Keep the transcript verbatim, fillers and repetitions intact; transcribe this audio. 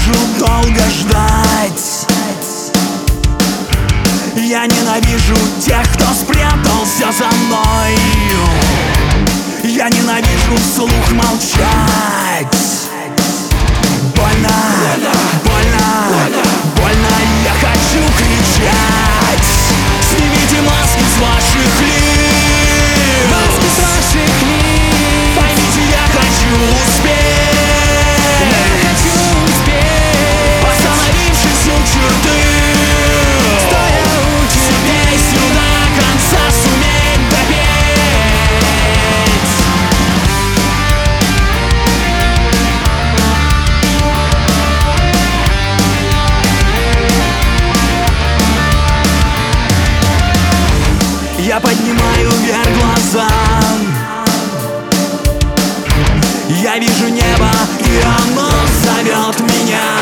ненавижу долго ждать. Я ненавижу тех, кто спрятался за мной. Я ненавижу вслух молчать. Больно, больно, больно, я хочу кричать. Снимите маски с ваших лиц. Маски с ваших лиц. Поймите, я хочу успеть. Я хочу успеть. Остановившись у черты, Стоя у черты. песню до конца суметь допеть. Я поднимаю вверх глаза. Я вижу небо, и оно зовет меня.